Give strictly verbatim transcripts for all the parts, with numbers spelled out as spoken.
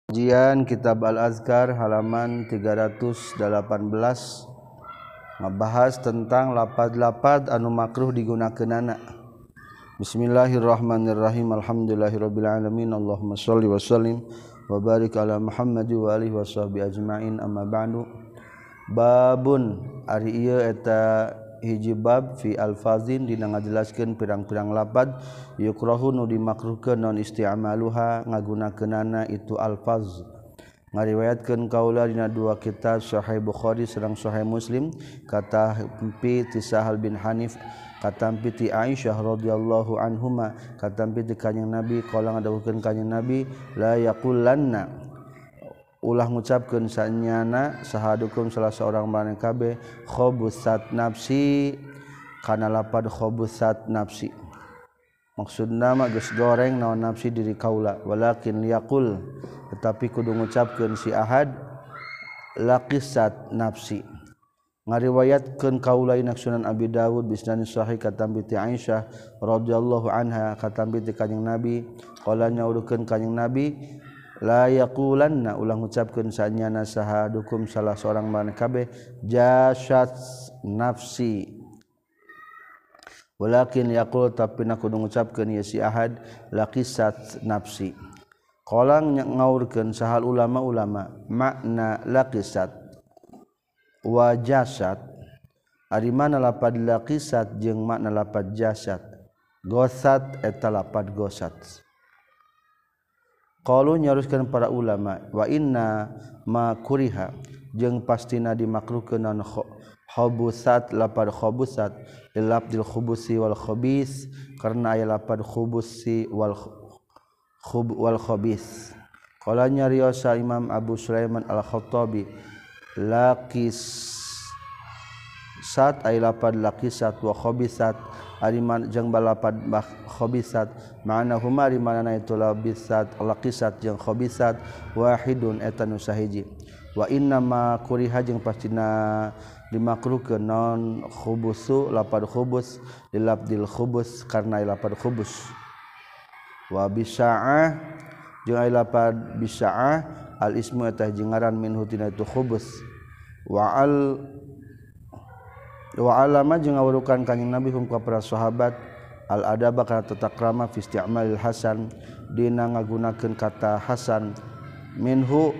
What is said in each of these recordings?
Kajian Kitab Al-Azkar halaman tiga ratus delapan belas ngebahas tentang lapad-lapad anu makruh digunakeunana. Bismillahirrahmanirrahim. Alhamdulillahirabbil alamin. Allahumma shalli wa sallim wa barik ala Muhammad wa alihi washabihi ajmain. Amma ba'du. Babun ari ieu eta hiji bab fi alfazin dina ngajelaskeun pirang-pirang lapad yukrahu nu dimakruhkeun non isti'maluha ngagunakeunana itu alfaz. Ngariwayatkeun kaula dina dua kitab Sahih Bukhari sareng Sahih Muslim kata mpi ti Sahal bin Hanif katampi ti Aisyah radhiyallahu anhuma katampi ti kanjing Nabi qala ngadawuhkeun kanjing Nabi la yaqulanna ulah ngucapkeun sanyana sahadukum salah seorang maneh kabeh khabusat nafsi kana lapad khabusat nafsi maksudna mah geus goreng naon nafsi diri kaula walakin liyaqul tetapi kudu ngucapkeun si ahad laqisat nafsi. Ngariwayatkeun kaula ina Sunan Abi Dawud bisnan sahih katambi ti Aisyah radhiyallahu anha katambi ti kanjing Nabi qala nyaurkeun kanjing Nabi la yaqulanna ulah ngucapkeun sanyana sahadukum salah seorang maneh kabeh jasad nafsi walakin yaqul tapi na kudu ngucapkeun ya si ahad laqisat nafsi. Qala ngaurkeun sahal ulama-ulama makna laqisat wa jasad ari mana lapad laqisat jeung makna lapad jasad. Gosat eta lapad gosat. Qalu nyaruskeun para ulama wa inna ma kuriha jeung pastina dimakruhkeun non khabusat lapad khabusat lilabdil khubusi wal khabis karena aya lapad khubusi wal khub wal khabis. Qala nyariosa Imam Abu Sulaiman Al-Khattabi laqis sat ay lapad laqisat wa khabisat ari man jeung balapad khabisat ma'ana huma ari manana itu labisat laqisat jeung khabisat wahidun eta nu sahiji wa inna ma kuriha jeung pastina dimakruhkeun non khubusu lapad khubus lilabdil khubus karna lapad khubus wa bisaah jeung ai lapad bisaah al ismu eta jengaran minhu tina itu khubus wa al wa alama jeung ngawurukan kanjing Nabi hum ka para sahabat al adaba kana tata krama fi isti'malil hasan dina ngagunakeun kata hasan minhu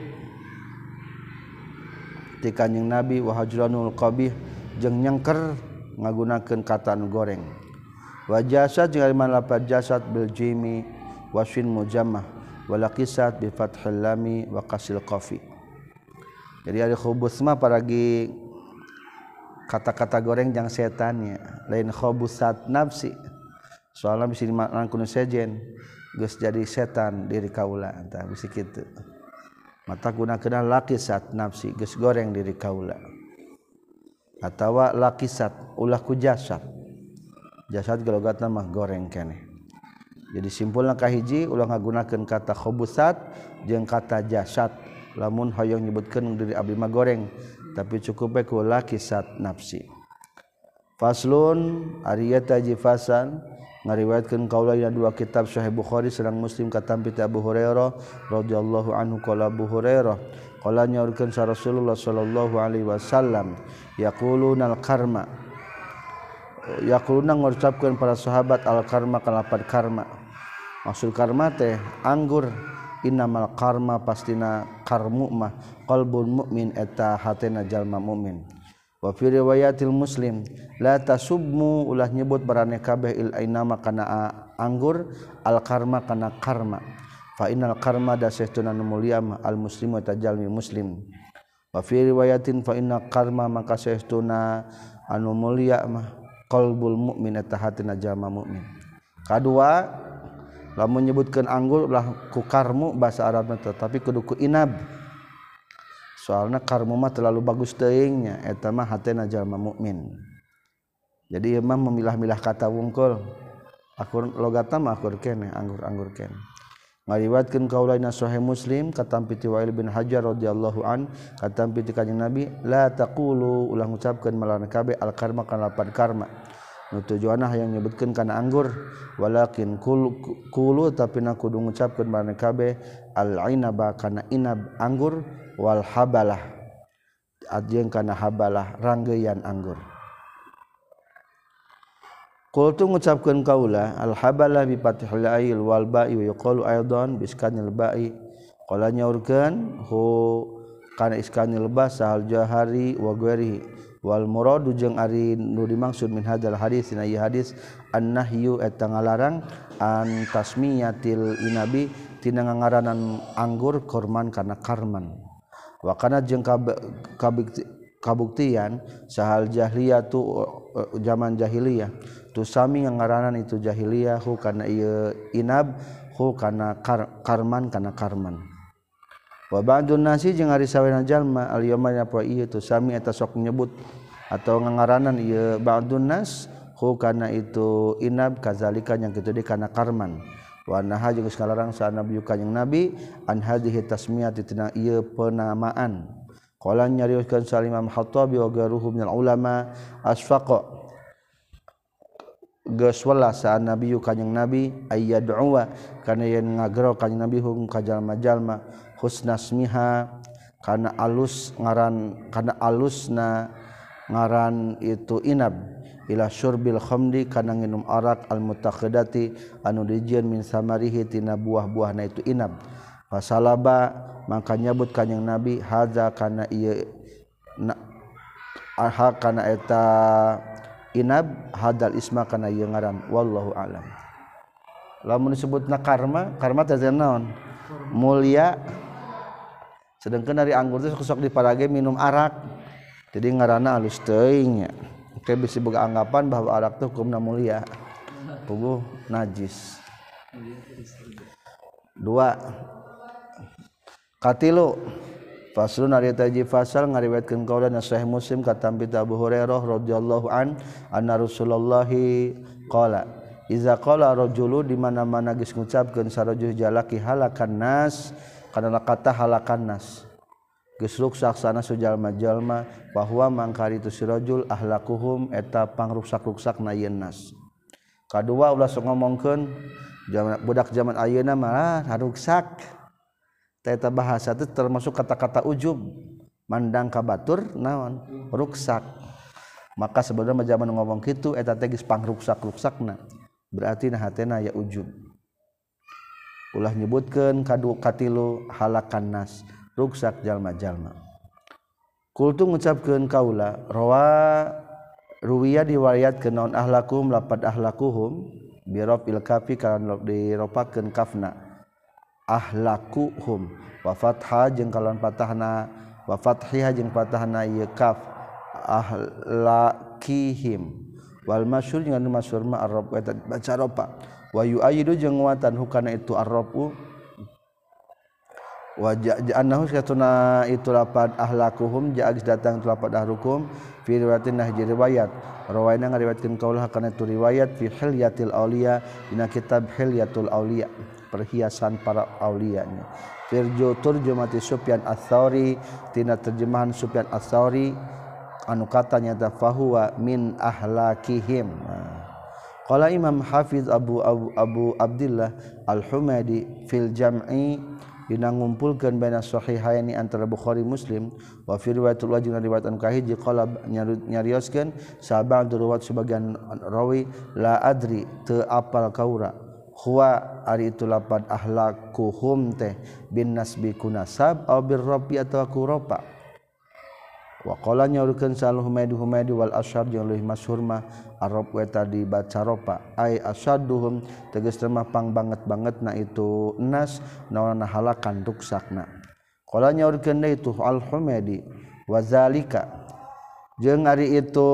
ti kanjing Nabi wa hajranul qabih jeung nyengker ngagunakeun kata anu goreng wa jasad jeung aliman lapad jasad bil jimi wasfin mujammah wa laqisat bi fathil lami wa qasil qafi. Jadi ari khubus mah paragi kata-kata goreng jang setannya lain khabusat nafsi soalnya bisa dimaknakan kuno sejen geus jadi setan diri kaula entah bisa kitu mata gunakeun laqisat nafsi geus goreng diri kaula atawa laqisat ulah ku jasad jasad galogatna mah goreng keneh. Jadi simpulna kahiji ulah ngagunakeun kata khabusat jeung kata jasad lamun hoyong nyebutkeun diri abdi mah goreng tapi cukup bae ku laqisat nafsi. Faslun ariyata jifasan ngariwayatkeun kaula dina dua kitab Sahih Bukhari sareng Muslim katampi ti Abu Hurairah radhiyallahu anhu qala Abu Hurairah qala nyaurkeun sa Rasulullah sallallahu alaihi wasallam yaquluna al-karma yaquluna ngucapkeun para sahabat al-karma kalapad karma maksud karma teh anggur innamal karma pastina karmu mah qalbul mukmin eta hatena jalma mukmin. Wa fi riwayatil Muslim la tasubmu ulah nyebut barane kabeh il ainama kana anggur al karma kana karma fa innal karma dasahtuna mulia al muslimu eta jalmi muslim. Wa fi riwayatin fa inna karma maka sahtuna anu mulia mah qalbul mukmin eta hatena jalma mukmin. Kadua lamun menyebutkan anggur ulah ku karmu bahasa Arabna tapi kudu ku inab soalna karmu mah terlalu bagus teuing nya eta mah hatena jalma mukmin. Jadi imam memilah-milah kata wungkul akur logatna mah akur keneh anggur-anggur keneh. Ngariwayatkeun kaula dina Sahih Muslim katampi ti Wa'il bin Hajar radhiyallahu an katampi ti kanjing Nabi la taqulu ulah ngucapkeun malahan kabeh al karma kana lapad karma nu tujuanna hayang nyebutkeun kana anggur walakin kul kulu tapi na kudu ngucapkeun marane kabeh al inaba kana inab anggur wal habalah ajeng kana habalah ranggeuyan anggur. Qultu ngucapkeun kaula al habalah bi fathil ail wal ba'i wa yuqalu aidan bi iskanil ba'i qala nyaurkeun hu kana iskanil ba sahal jahari wa ghairihi wal muradu jeung ari nu dimaksud min hadzal hadis dina ieu hadis annahyu eta ngalarang an tasmiyatil inabi tina ngangaranan anggur korman kana karman wa kana jeung kabuktian sahal jahiliyah tu zaman jahiliyah tu sami ngaranan itu jahiliyah hu kana ieu inab hu kana kar, karman kana karman wa ba'dun nasi jeung ari sawana jalma al yaumana poe ieu tu sami eta sok nyebut atau ngangaranan ieu ba'dun nas hu kana itu inab kazalika nya kitu deui kana karman wa naha jeung salarang sa nabi kanjing nabi an hadhihi tasmiyati tina ieu penamaan qala nyarioskeun sa Imam Khattabi wa garuhu minal ulama asfaqa geus welas sa nabi kanjing nabi ayyad'uwa kana yen ngagero kanjing nabi hum ka jalma-jalma husnasmiha kana alus ngaran kana alusna ngaran itu inab ila syurbil khamdi kana nginum arak al mutakhadati anu dijieun min samarihi tina buah-buahna itu inab fasalaba maka nyabut kanjing nabi hadza kana ieu aha kana eta inab hadal isma kana ieu ngaran wallahu alam. Lamun disebutna karma karma teh naon mulia sedangkan dari anggur teh sok diparage minum arak jadi ngaranna alus teuing nya oke bisa boga anggapan bahwa arak teh hukumna mulia puguh najis. Dua katilu faslun ari taji fasal ngariwayatkeun qaula na Sahih Muslim katam bi Abu Hurairah radhiyallahu an anna Rasulullah qala iza qala rajulu di mana-mana geus ngucapkeun sarajul jalaki halakan nas kana kata halakan nas geus ruksak sana sujalma-jalma bahwa mangkari tu sirajul ahlakuhum eta pangruksak-ruksakna ieu nas. Kadua ulah sok ngomongkeun budak zaman ayeuna mah haruksak eta bahasa itu termasuk kata-kata ujub mandang ka batur naon ruksak maka sebenarnya zaman ngomong kitu eta teh geus pangruksak-ruksakna berarti nah hatena ya ujub ulah nyebutkeun kadu katilu halakan nas ruksak jalma-jalma. Kultu ngucapkeun kaula rawa ruwiya diwariatkeun naon ahlakum lapad ahlakuhum bi rafil kafi kana diropakeun kafna ahlakuhum wa fathah jeung kalawan patahna wa fathiha jeung patahna ieu kaf ahlakihim wal masyhur jeung anu masyhur ma arab eta baca ropa wa yu'ayyidu jeung nguatan hukana itu arrabu wa ja'annahu satuna itu lapad ahlakuhum ja'is datang itu lapad ahlukum fi riwayatin nahji riwayat rawaina ngariwayatkeun kaulah kana itu riwayat fi hilyatil auliya dina kitab hilyatul auliya perhiasan para aulianya. Firjo turjumati Sufyan Ats-Tsauri tina terjemahan Sufyan Ats-Tsauri anu katanya fahuwa min ahlakihim. Qala Imam Hafiz Abu Abu, Abu Abdullah Al-Humaidi fil Jam'i dina ngumpulkeun baina sahihaini antara Bukhari Muslim wa fi riwayatul wajib riwayat anu kahiji qala nyarioskeun sabang riwayat sebagian rawi la adri teu apal kaura huwa ari itu lapad ahlakuhum teh bin nasbi kunasab aw bir rabbi atawa kuropa wa qala nyaurkeun sal humaydi humaydi wal asyab jeung leuwih masyhur mah arab eta dibaca ropa ai asyadduhum tegas mah pang banget-bangetna itu nas naonna halakan ruksakna qala nyaurkeun deui itu al humaydi wa zalika jeung ari itu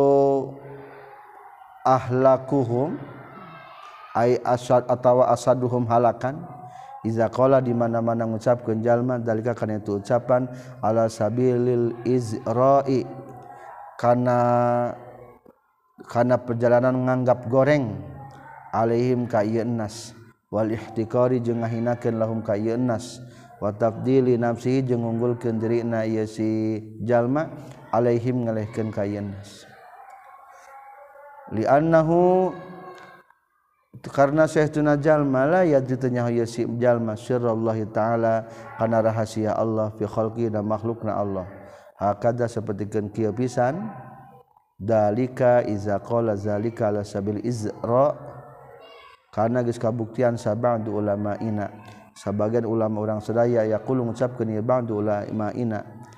ahlakuhum ai asad atawa asaduhum halakan iza qala di mana-mana ngucapkeun jalma dalika kana itu ucapan ala sabilil izra'i kana kana perjalanan nganggap goreng alaihim ka ieu nas wal ihtiqari jeung ngahinakeun lahum ka ieu nas wa tafdili nafsihi jeung ngunggulkeun dirina ieu si jalma alaihim ngalehkeun ka ieu nas. li'annahu karena saestuna jalma la yadritanya ya si jalma sirrallahi taala kana rahasia Allah fi khalqi dan makhlukna Allah hakada sapertikeun kieu pisan dalika iza qala zalika ala sabil izra karena geus kabuktian sab'du ulama'ina sabagian ulama orang sadaya yaqulu ngucapkeun ieu ba'du ulama'ina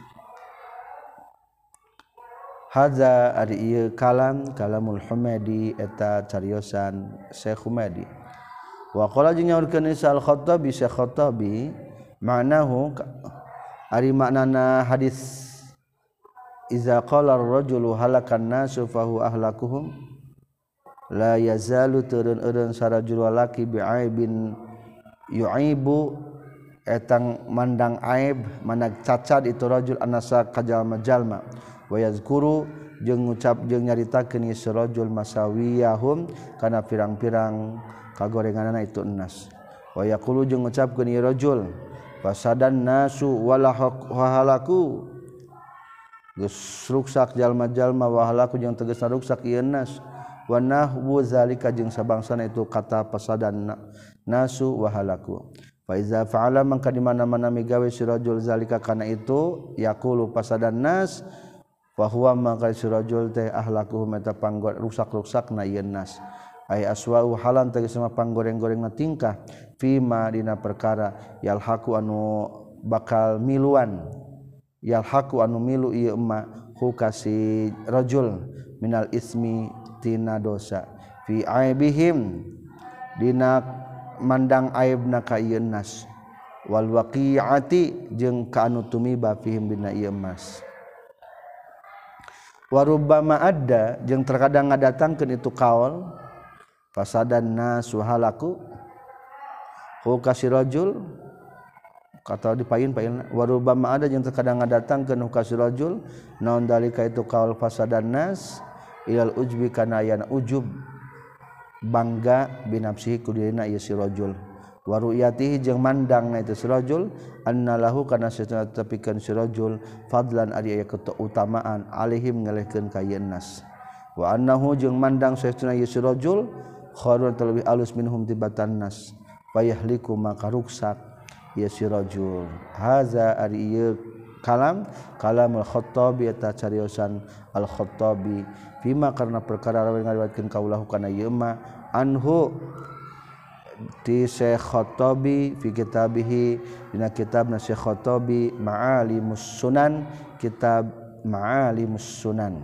hadza ari ieu kalam kalamul Humaidi eta cariosan Syekh Humaidi wa qala jeung nyaurkeun Al Khattabi Syekh Khattabi ma'nahu ari maknana hadis iza qala ar-rajulu halakan nasu fahu ahlakuhum la yazalu turun-urun sarajul walaki bi'aibin yu'ibu etang mandang aib manag cacat itu rajul anasa kajalma-jalma wa yazkuru jeung ngucap jeung nyaritakeun ieu rajul masawiyahum kana pirang-pirang kagorenganna itu enas wa yaqulu jeung ngucapkeun ieu rajul fasadan nasu walahalaku geus ruksak jalma-jalma wa halaku jeung tegasna ruksak ieu nas wa nahwu zalika jeung sabangsana itu kata fasadan nasu wa halaku fa iza fa'ala mangka di mana-mana migawe si rajul zalika kana itu yaqulu fasadan nas wa huwa mangka si rajul teh ahlakuhum eta panggor rusak-rusakna ieu nas ay aswa'u halan tegasna panggoreng-gorengna tingkah fima dina perkara yalhaqu anu bakal miluan yalhaqu anu milu ieu emma hu kasi rajul minal ismi tina dosa fi aibihim dina mandang aibna ka ieu nas wal waqi'ati jeung ka anu tumiba fihim dina ieu mas warubbama adda jeung terkadang ngadatangkeun itu kaul fasadan nasu halaku hu kasi rajul kata dipain-pain warubbama ada jeung terkadang ngadatangkeun hu kasi rajul naon dalika itu kaul fasadan nas ilal ujbi kana ayana ujub bangga binafsihi kudirina ieu si rajul wa ru'yatihi jeung mandangna itu si rajul annalahu kana satuna tepikeun si rajul fadlan ari aya keutamaan alaihim ngalehkeun ka ieu nas wa annahu jeung mandang satuna ieu si rajul khairun talbi alus minhum tibatan nas fayahliku maka ruksak ieu si rajul haza ari ieu kalam kalamul Khattabi eta cariosan Al Khattabi fima karena perkara rawi ngariwayatkeun kaulahu kana ieu ma anhu di Syekh Khattabi fi kitabihi dina kitabna Syekh Khattabi Ma'alimus Sunan kitab Ma'alimus Sunan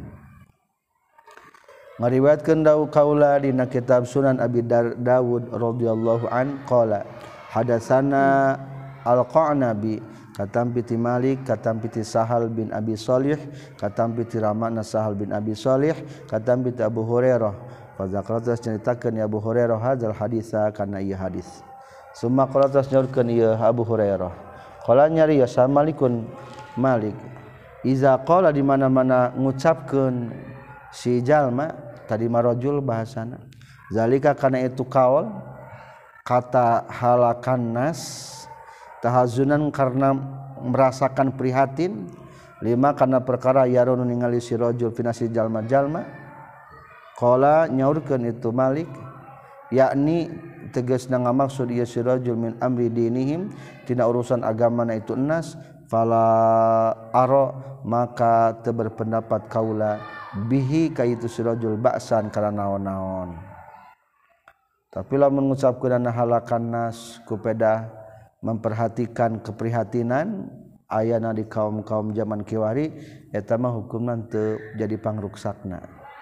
ngariwayatkeun dawu kaula dina kitab Sunan Abi Dawud radhiyallahu an qala hadatsana Al-Qanabi katam piti Malik katam piti Sahal bin Abi Shalih katam piti Ramana Sahal bin Abi Shalih katam piti Abu Hurairah fa zakarta ceritakeun ya Abu Hurairah hadzal hadisa kana ieu hadis summa qala tasnurkeun ieu Abu Hurairah qala nyari ya Malikun Malik iza qala di mana-mana ngucapkeun si jalma tadi marajul bahasana zalika kana itu kaul kata halakan nas tahazunan karena merasakan prihatin lima karena perkara yarunu ningali si rajul finasi jalma-jalma qala nyaurkeun itu Malik yakni tegasna ngamaksud ieu si rajul min amri dinihim tina urusan agamana itu enas fala ara maka teu berpendapat kaula bihi ka itu si rajul ba'san kana naon-naon tapi lamun ngucapkeun halakan nas kupeda memperhatikan keprihatinan ayana di kaum-kaum zaman kiwari eta mah hukumna teu jadi pangruksakna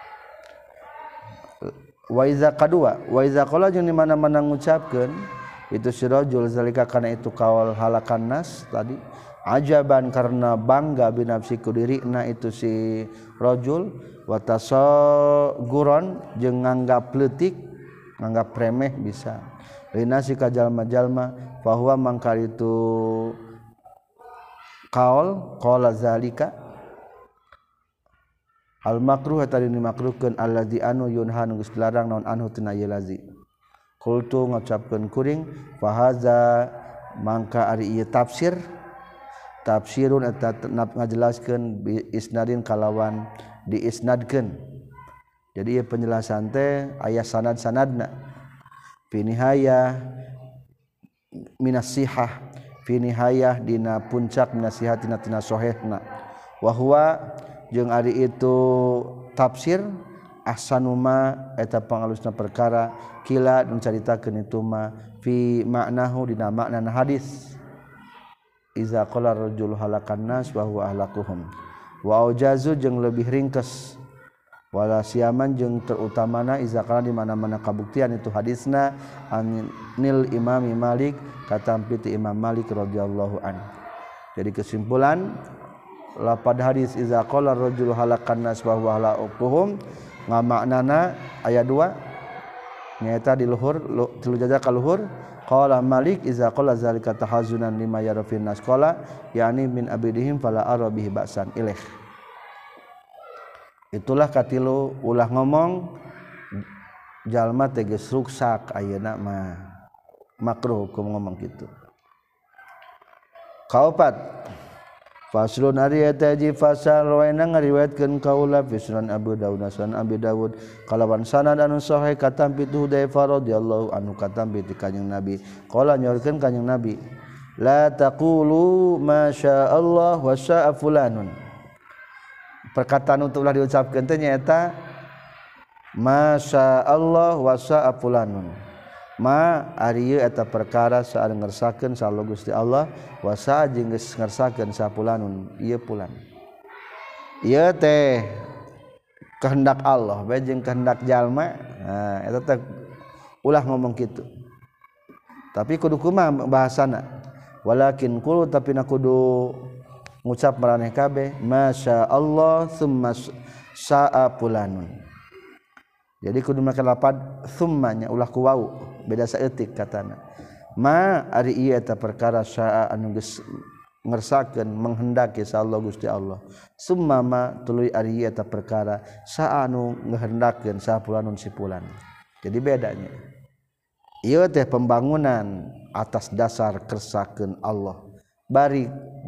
wa iza kadua wa iza qala jeung di mana-mana ngucapkeun itu si rajul zalika kana itu kaul halakan nas tadi ajaban karena bangga binafsi ku dirina itu si rajul wa tasaguron jeung nganggap leutik nganggap remeh bisa linasi ka jalma-jalma fahuwa mangkar itu qaul qala zalika al makruh tadi dimakruhkeun alladzi anu yunhan geus dilarang naon anhu tina ieu lazi qultu ngucapkeun kuring fa haza mangka ari ieu tafsir tafsirun eta ngajelaskeun bi isnadin kalawan diisnadkeun Jadi ieu penjelasan teh aya sanad-sanadna fi nihayah minas sihah fi nihayah dina puncak minasihat tina tina sahihna wa huwa jeung ari itu tafsir ahsanuma eta pangalusna perkara kila nu caritakeun itu mah fi ma'nahu dina makna hadis iza qala rajul halakan nas wa huwa ahlakuhum wa aujazu jeung lebih ringkes wala siaman jeung terutamana iza qala di mana-mana kabuktian itu hadisna anil Imam Malik katampi ti Imam Malik radhiyallahu an. Jadi kesimpulan lapad hadis iza qala rajul halakan nas wa huwa ahlakuhum ngamaknana aya dua nyaeta di luhur tilu jaja ka luhur qala Malik iza qala zalika tahazunan lima yara fin nas qala yani min abidihim fala arabihi ba'san ilaih. Itulah katilu ulah ngomong jalma teh geus ruksak ayeuna mah makruh hukum ngomong kitu. Kaopat faslun ari eta ji fasal rawaina ngariwayatkeun kaula fi sunan Abu Dawud sunan Abi Dawud kalawan sanad anu sahih katampi tu Hudzaifah radhiyallahu anhu katampi ti kanjeng Nabi qala nyorkeun kanjeng Nabi la taqulu ma syaa Allah wa syaa fulanun. Perkataan untuk ulah diucapkeun teh nyaeta ma syaa Allah wa syaa fulanun. Ma ari ieu eta perkara saat ngersakeun sallo Gusti Allah wa sa jeung geus ngersakeun sapulanun ieu pulan. Ieu teh kehendak Allah bae jeung kehendak jalma. Nah eta teh ulah ngomong kitu. Tapi kudu kumaha bahasana? Walakin qulu tapi na kudu ngucap maraneh kabeh masya Allah summa sa'a fulanun. Jadi kudu make lapad summanya ulah ku wau beda saeutik katana ma ari ieu eta perkara syaa anu geus ngersakeun menghendaki sallallahu Gusti Allah summa ma tuluy ari ieu eta perkara saa anu ngehendakeun sapulanun sipulan. Jadi bedanya ieu teh pembangunan atas dasar kersakeun Allah bari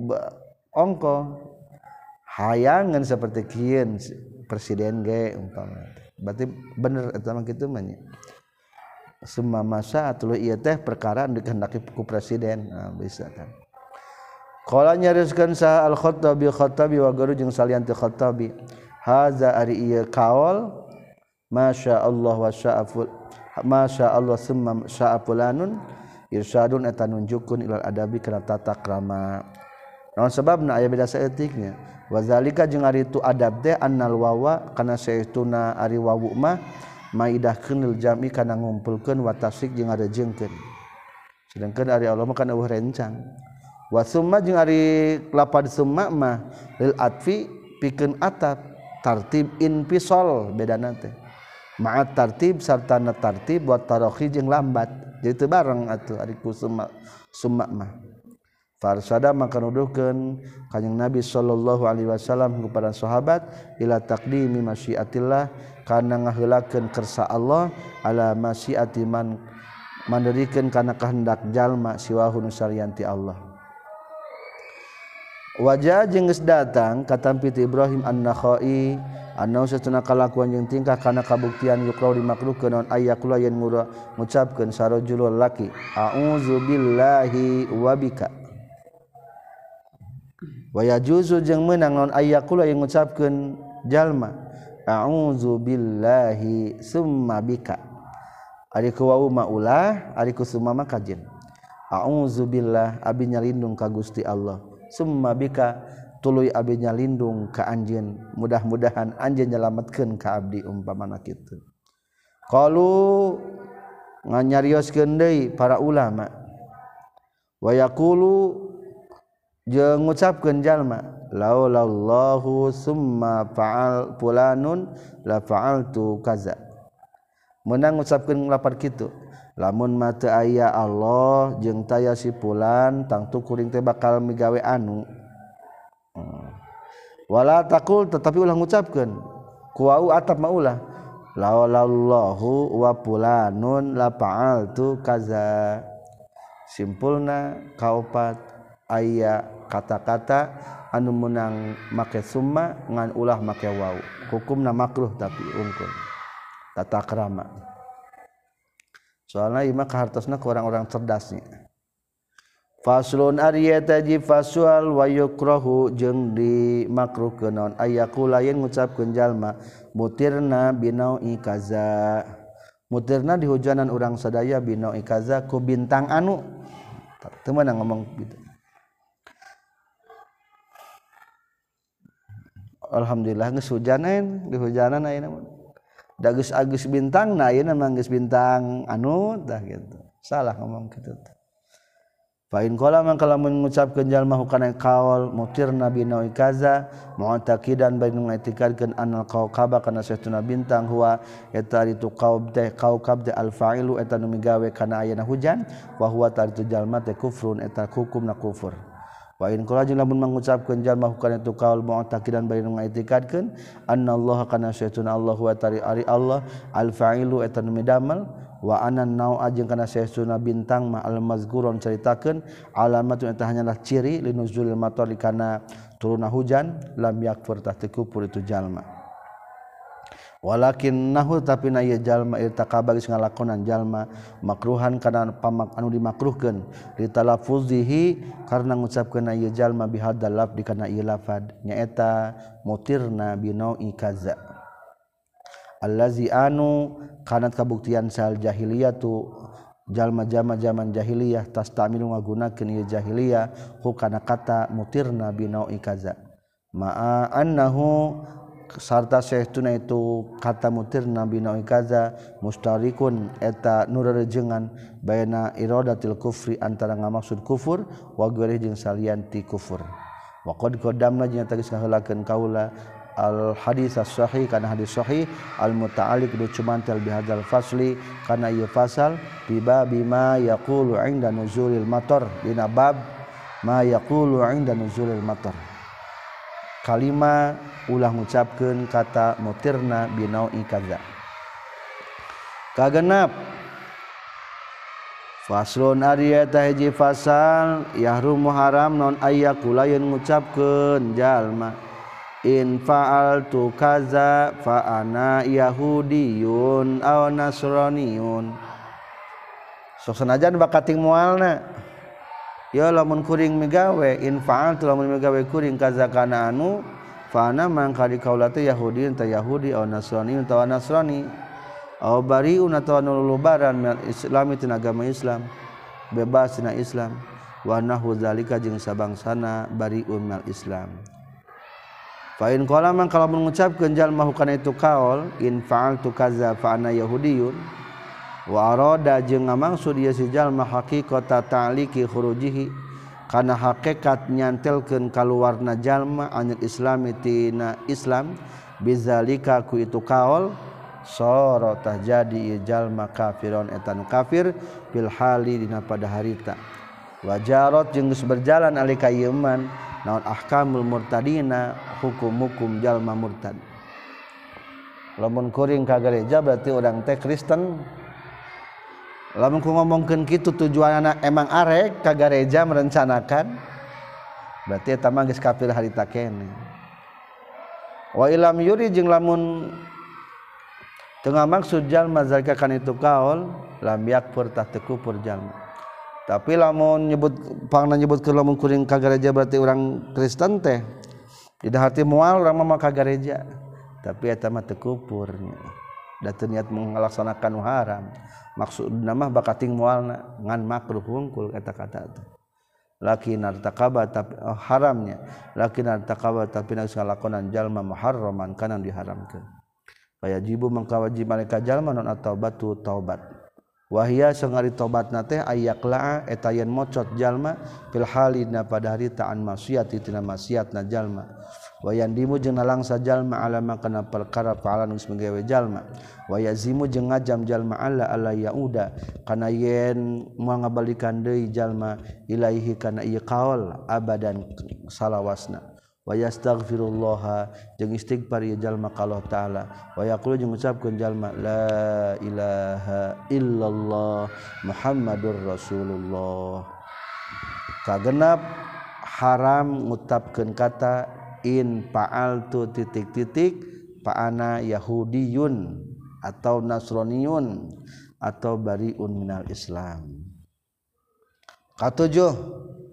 ongko hayangan seperti kieu presiden ge umpama berarti bener eta mah kitu mah nya summa masa tuluy ieu teh perkara anu dikehendaki ku presiden. Nah, bisa kan qala nyariskeun sa al-Khattabi Khattabi wa garu jeung salian teh Khattabi haza ari ieu kaul masya Allah wa sya'aful masya Allah summa sya'afulanun irsyadun eta nunjukkeun ilal adabi kana tata krama naon sebabna aya beda saeutiknya wazalika jeung ari itu adab teh annal wawa kana saestuna ari wawu mah maidahkeun lil jami kana ngumpulkeun wa tasik jeung arejengkeun sedangkeun ari Allah mah kana eueuh rencang wa summa jeung ari lapad summa mah lil atfi pikeun atap tartib infisal bedana teh ma'at tartib sarta na tartib wa tarakhi jeung lambat jadi teu bareng atuh ari ku summa summa mah farsada maka nuduhkeun kanjeng Nabi sallallahu alaihi wasallam kepada sahabat ila taqdimi masyiatillah kana ngaheulakeun kersa Allah ala masyiati man manderikeun kana kehendak jalma siwahu nu salianti Allah. Wajah jeung geus datang katampi ti Ibrahim an-Nakhai anu satuna kalakuan jeung tingkah kana kabuktian yukrau dimakruhkeun naon ayyakula yen ngucapkeun sarojul laki a'udzubillahi wa bika wa yajuzu jeung meunang naon ayyakula yang ngucapkeun jalma a'udzubillahi summa bika ari ku wau maulah ari ku summa mah kajen a'udzubillah abi nyalindung ka Gusti Allah summa bika tuluy abi nyalindung ka anjeun mudah-mudahan anjeun nyalametkeun ka abdi umpamana kitu qalu nganyarioskeun deui para ulama wa yaqulu jeung ngucapkeun jalma laulallahu summa fa'al fulanun la fa'altu kaza meunang ngucapkeun lapar kitu lamun mah teu aya Allah jeung taya si fulan tangtu kuring teh bakal migawe anu hmm. wala taqul tetapi ulah ngucapkeun ku wau atap mah ulah laulallahu wa fulanun la fa'altu kaza simpulna kaopat aya kata-kata anu meunang make summa ngan ulah make wau hukumna makruh tapi unggul tata krama soalna ieu mah kahartosna ku orang-orang cerdasnya. Faslun ariyata ji faswal wa yukrahu jeung dimakruhkeun naon ayaqula yen ngucapkeun jalma mutirna binaui kaza mutirna dihujanan urang sadaya binaui kaza ku bintang anu teu meunang ngomong gitu. Alhamdulillah geus hujanan dihujanan ayeuna mah da geus agus bintang na ayeuna mah geus bintang anu tah gitu salah ngomong kitu teh. Fa'in qala man kala mengucapkeun jalma hukana qaul mutirna binaui kaza mu'taqidan bainu ngaitikadkeun anal qaukaba kana saestuna bintang huwa eta itu qaub teh qaukab teh al fa'ilu eta nu migawe kana ayeuna hujan wa huwa taritu jalma teh kufrun eta hukumna kufur. Wa in qala jeung lamun mengucapkeun jalma hukana itu qaul mu'taqidan bainu ngaitikadkeun annallaha kana saestuna Allah wa tari ari Allah al fa'ilu eta nu midamel wa anan nau ajeng kana saestuna bintang ma al mazkuron caritakeun alamatun eta hanyalah ciri linuzulil matar kana turunna hujan lam yakfur tah teu kufur itu jalma walakin nahu tapi na ieu jalma irtaqaba geus ngalakonan jalma makruhan kana pamak anu dimakruhkeun li talaffuzihi karna ngucapkeun ieu jalma bihadzal lafzi kana ieu lafad nyaeta mutirna binaui kaza allazi anu kanat kabuktian sal jahiliyah tu jalma-jalma zaman jahiliyah tastamilu ngagunakeun ieu jahiliyah ku kana kata mutirna binaui kaza ma'a annahu sarta saestuna itu kata mutirna binaui kaza mustarikun eta nurarejengan baina iradatil kufri antara ngamaksud kufur wa ghairi jeung salian ti kufur wa qad qaddamna jeung tadi saheulakeun kaula al hadis as-sahih kana hadis sahih al muta'alliq du cumantel bihadzal fasli kana ieu fasal bi bima yaqulu 'inda nuzulil matar dina bab ma yaqulu 'inda nuzulil matar kalima ulah ngucapkeun kata mutirna binaui kaza kagenap faslun ariyata hiji fasal yahrumu haram non ayyakula yen ngucapkeun jalma in fa'altu kaza fa ana yahudiyun aw nasraniyun sok sanajan bakating moalna ya lamun kuring migawe in fa'altu lamun migawe kuring kaza kana anu fa ana mangka di kaula teh yahudiyun ta yahudi aw nasraniyun ta nasrani aw bariun atawa nulubaran min islam tina agama Islam bebas tina Islam wa nahu zalika jeung sabangsana bariun mal Islam. Fa in qala man kalau mengucapkeun jalma hukana itu kaul in fa'altu kaza fa ana yahudiyun wa arada jeung ngamaksud ieu si jalma haqiqata ta'liqi khurujihi kana hakikat nyantelkeun kaluarna jalma anil islami tina Islam bizalika ku itu kaul sara tah jadi ieu jalma kafiron eta nu kafir fil hali dina pada harita wajarat jeung geus berjalan alika ieu man naon ahkamul murtadina hukum-hukum jalma murtad lamun kuring ka gereja berarti urang teh Kristen lamun ku ngomongkeun kitu tujuanna emang arek ka gereja merencanakan berarti eta mah geus kafir harita keneh wa ilam yuri jeung lamun teu ngamaksud jalma zalika kana itu kaul lam yakfur tah teu kufur jalma. Tapi lamun nyebut pangna nyebut ke lamun kuring ka gereja berarti orang Kristen teh tidak hati moal urang mah ka gereja tapi eta mah teu kufur da teu niat melaksanakan haram maksudna mah bakating moalna ngan makruh hungkul eta kata teh lakin artaqaba tapi oh, haramnya lakin artaqaba tapi geus ngalakonan jalma muharraman kana diharamkeun fayajibu mangka wajib malika jalma non at-taubatu taubat wahia sangari tobatna teh ayaqla eta yen mocot jalma fil halina pada harita an maksiat tina maksiatna jalma wayan dimu jeung nalangsa jalma alama kana perkara fa'alan geus menggawe jalma wayazimu jeung ngajam jalma alla alla yauda kana yen moal ngabalikan deui jalma ilaihi kana ieu qaul abadan salawasna wa yastaghfirullah jeung istighfar ieu jalma ka Allah taala wa yaqulu jeung ngucapkeun jalma la ilaha illallah muhammadur rasulullah kagenap haram ngucapkeun kata in fa'altu titik-titik fa ana yahudiyun atau nasroniyun atau bariun minal Islam. Katujuh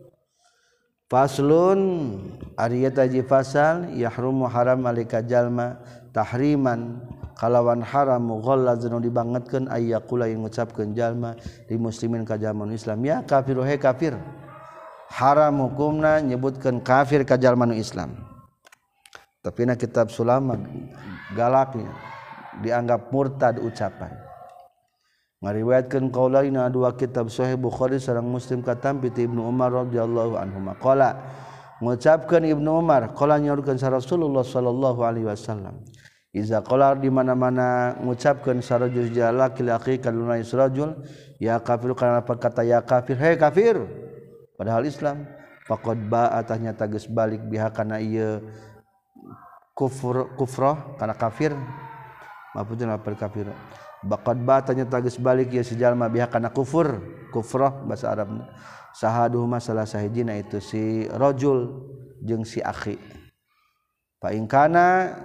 faslun ari eta ji fasal yahrumu haram alika jalma tahriman kalawan haram mughallazun dibangetkeun aya kula yang ngucapkeun jalma di muslimin ka jalma Islam ya kafir he kafir haram hukumna nyebutkeun kafir ka jalma Islam tapi na kitab sulama galaknya dianggap murtad ucapan ngariwayatkeun qaulaina dua kitab sahih Bukhari sareng Muslim katampi ti Ibnu Umar radhiyallahu anhu qala ngucapkeun Ibnu Umar qala nyaurkeun sa Rasulullah sallallahu alaihi wasallam iza qala di mana-mana ngucapkeun sarajul jalaki laki kaluna israjul ya kafir kana kata ya kafir he kafir padahal Islam faqad ba'a tanya tageus balik biha kana ieu kufur kufrah kana kafir maksudna apa kafir baqad ba tanya tageus balik ya si jalma biha kana kufur kufrah bahasa Arabna sahaduh masalah sahijina itu si rajul jeung si akhi fa in kana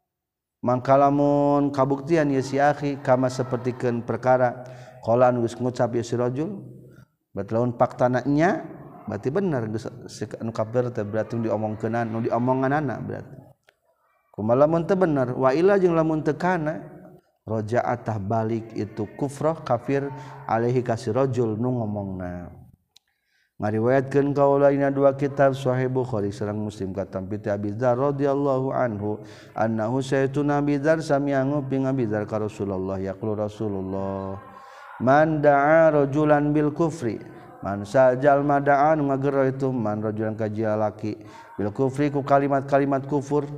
mangkalamun kabuktian ya si akhi kama sapertikeun perkara qala anu geus ngucap ya si rajul berarti lamun faktana nya berarti bener geus anu kafir teh berarti diomongkeunana nu diomonganana berarti kumaha lamun teu bener wa ila jeung lamun teu kana raja'atah balik itu kufrah kafir alaihi kasir rajul nu ngomongna ngariwayatkeun kaulaina dua kitab sahih Bukhari sareng Muslim katampi ti Abi Dzar radhiyallahu anhu annahu sayyiduna Abi Dzar sami'a nguping Abi Dzar ka Rasulullah yaqulu Rasulullah man da'a rajulan bil kufri man sajal mada'an ngagero itu man rajulan ka laki bil kufri ku kalimat-kalimat kufur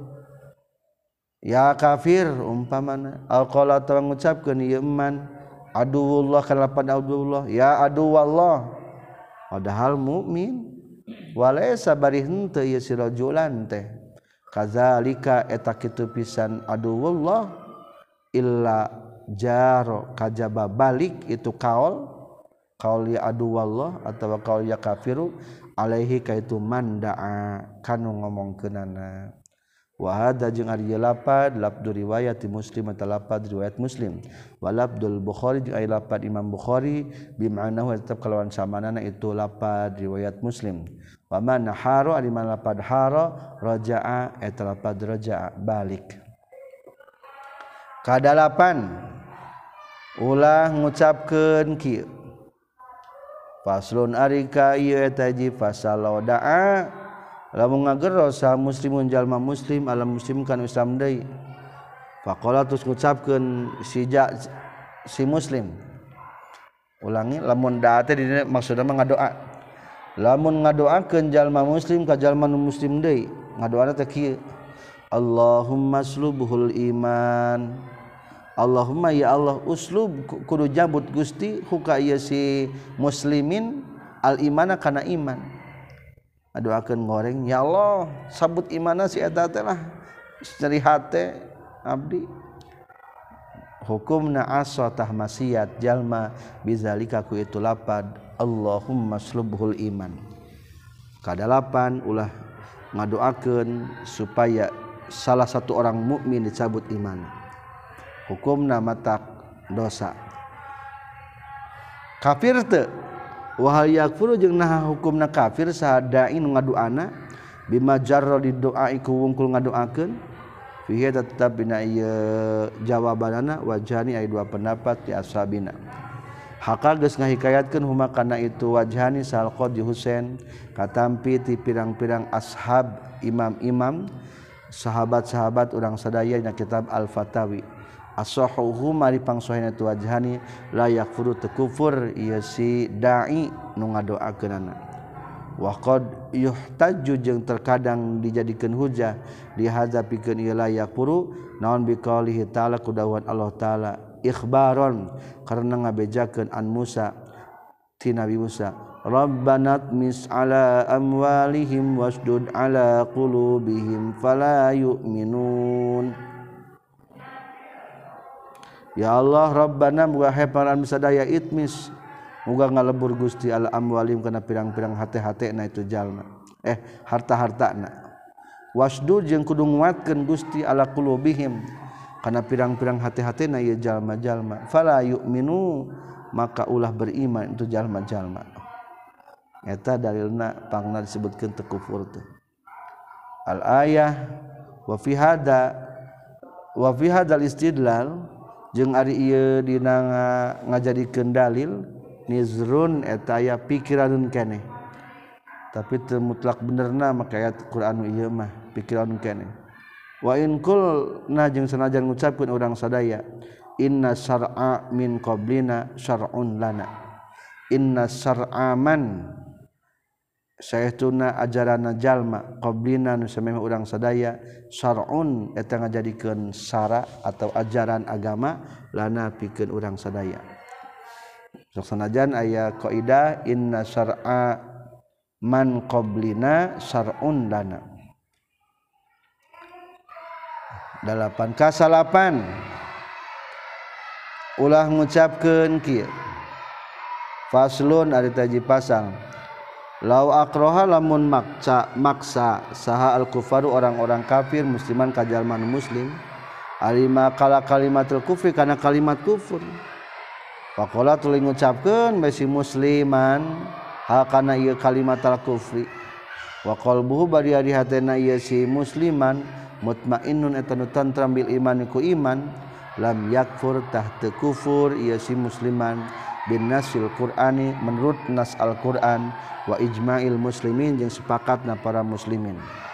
ya kafir umpamana alqala tawa ngucapkeun ieu man aduwullah kana lapan aduwullah ya aduwallah padahal mukmin walaysa bari henteu ieu si rajulan teh kadzalika eta kitu pisan aduwullah illa jaro kajaba balik itu kaul kaul ya aduwallah atawa kaul ya kafiru alaihi kaitu mandaa kanu ngomongkeunana wa hadza jeung ari lapad labdu riwayat Muslim atau lapad riwayat Muslim wa labdul Bukhari jeung ari lapad Imam Bukhari bi ma'nahu tetap kalawan samanana itu lapad riwayat Muslim wa man haru ari man lapad hara raja'a eta lapad raja'a balik kadalapan ulah ngucapkeun kieu faslun ari ka ieu eta ji fasal da'a lamun ngagero sa muslimun jalma muslim alam muslim kan Islam deui faqala tus ngucapkeun si ja, si muslim ulangi lamun da teh dina maksudna mah ngadoa lamun ngadoakeun jalma muslim ka jalma nu muslim deui ngadoana teh kieu Allahumma slubhul iman Allahumma ya Allah uslub kudu jabut Gusti huka ieu si muslimin al imana kana iman adoakeun goreng ya Allah sabut imana si eta teh lah cari hate abdi hukumna asa tah maksiat jalma bizalika ku itu lapad Allahumma slubhul iman kadalapan ulah ngadoakeun supaya salah satu orang mukmin dicabut iman hukumna matak dosa kafir teu wahal yakfuru jeung naha hukumna kafir sadai nu ngaduana bima jarra di doa iku wungkul ngadoakeun fihi tetap bina ieu jawabanana wajhani aya dua pendapat di ashabina haka geus ngahikayatkeun huma kana itu wajhani sal qadi Husain katampi ti pirang-pirang ashab imam-imam sahabat-sahabat urang sadaya dina kitab Al-Fatawi as-sahuhu mari pangsohina tu wajhani la yakfuru tekufur ieu si dai nu ngadoakeunana wa qad yuhtajju jeung terkadang dijadikeun hujah dihadzapikeun ieu la yakfuru naon bi qaulihi ta'ala kudawan Allah taala ikhbaron karena ngabejakeun an Musa ti Nabi Musa Rabbana tmis ala amwalihim wasdud ala qulubihim fala yu'minun ya Allah Rabbana muga heparan sadaya itmis muga ngalebur Gusti ala amwalim kana pirang-pirang hate-hatena itu jalma eh harta-hartana wasdud jeung kudu nguatkeun Gusti ala qulubihim kana pirang-pirang hati-hatina ieu jalma-jalma fala yu'minu maka ulah beriman itu jalma-jalma eta dalilna pangna disebutkeun teu kufur teh al ayah wa fi hada wa fi hadal istidlal jeung ari ieu dina ngajadikeun dalil nizrun eta aya pikiranun keneh tapi teu mutlak benerna maka ayat Qur'an ieu mah pikiranun keneh wa in qulna jeung sanajan ngucapkeun urang sadaya inna syar'a min qablina syar'un lana inna syar'a man saestuna ajaranna jalma qablina nu samemeh urang sadaya syar'un eta ngajadikeun syara atau ajaran agama lana pikeun urang sadaya sok sanajan aya kaidah inna syar'a man qablina syar'un lana dalapan kasalapan ulah ngucapkeun kieu faslun ari taji pasang lau akroha lamun maksa maksa saha al kufaru orang-orang kafir musliman kajalman muslim alima kala kalimatul kufri kana kalimat kufur faqala tuluy ngucapkeun besi musliman hal kana ieu kalimat al kufri wa qalbuhu bari ari hatena ieu si musliman mutmainnun eta nu tantram bil iman ku iman lam yakfur tah teu kufur ieu si musliman bin nasil qur'ani menurut nas al-Qur'an wa ijma'il muslimin jeung sepakatna para muslimin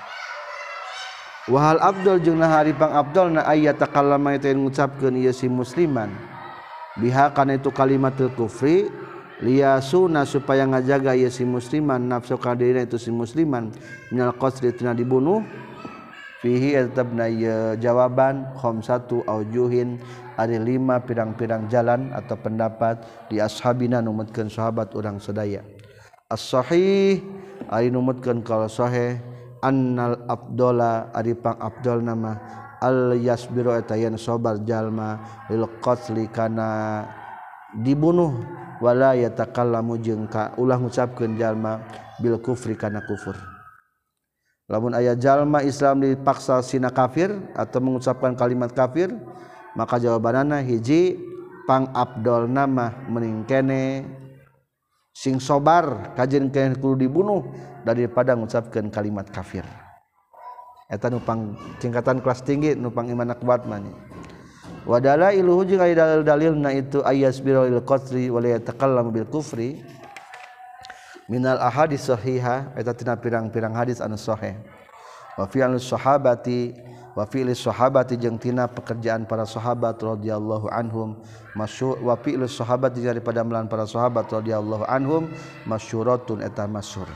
wa hal afdal jeung nahari pang afdalna ayat takallama eta ngucapkeun ieu si musliman biha kana itu kalimatul kufri liyasuna supaya ngajaga ieu si musliman nafsu kadirina itu si musliman minal qasri tina dibunuh fihi atabna ya jawaban khamsatu aujuhin ada lima pirang-pirang jalan atau pendapat di ashabina numutkeun sahabat urang sadaya as-sahih ari numutkeun kalau sahih annal afdala ari pang afdal nama al yasbiru eta yen sabar jalma lil qatli kana dibunuh wala yatakallamu jeung ka ulah ngucapkeun jalma bil kufri kana kufur lamun aya jalma Islam dipaksa sina kafir atau mengucapkan kalimat kafir maka jawabanana hiji pang afdal nama mending kene sing sobar kajen kene kudu dibunuh daripada mengucapkan kalimat kafir eta nu pang tingkatan kelas tinggi nu pang iman kuat mah wa dalailuhu jeung aya dalil-dalilna itu ayasbirul qatri wa la yatakallamu bil kufri minal ahadits sahihah eta tina pirang-pirang hadis anu sahih wa fi'lus sahabati wa fi'lis sahabati jeung tina pekerjaan para sahabat radhiyallahu anhum masyhur wa fi'lus sahabati daripada melan para sahabat radhiyallahu anhum masyhuratun eta masyhur.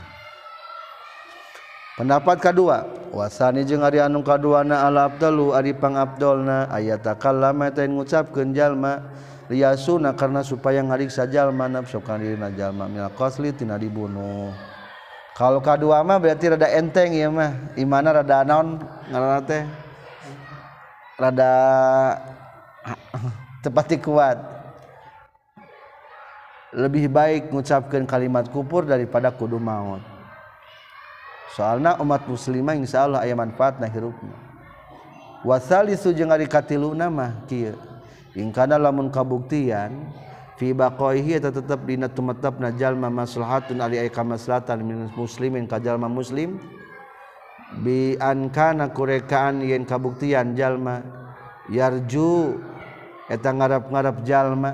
Pendapat kadua wasani jeung ari anu kaduana al afdalu ari pangabdolna ayat takallama eta ngucapkeun jalma liyasuna karena supaya ngariksa jalma nafsu kana jalma minal qasli tina dibunuh. Kalau kadua mah berarti rada enteng ya mah imana rada naon ngaranna teh rada tepati kuat lebih baik mengucapkan kalimat kufur daripada kudu maut soalna umat muslimah insyaallah aya manfaatna hirupna wasalisu jeung ari katiluna mah kieu ingkana lamun kabuktian fi baqaihi eta tetep dina tumetepna jalma maslahatun ari aya kamaslahatan min muslimin ka jalma muslim bi an kana kurekaan yen kabuktian jalma yarju eta ngarap-ngarap jalma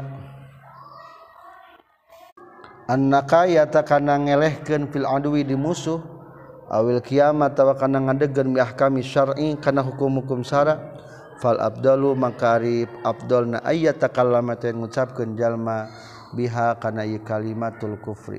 annaka yata kana ngelehkeun fil adwi di musuh awil kiamat tawa kana ngadegeun bi ahkami syar'i kana hukum-hukum syara fal afdalu makari afdalna ayat takallama ta ngucapkeun jalma biha kana ieu kalimatul kufri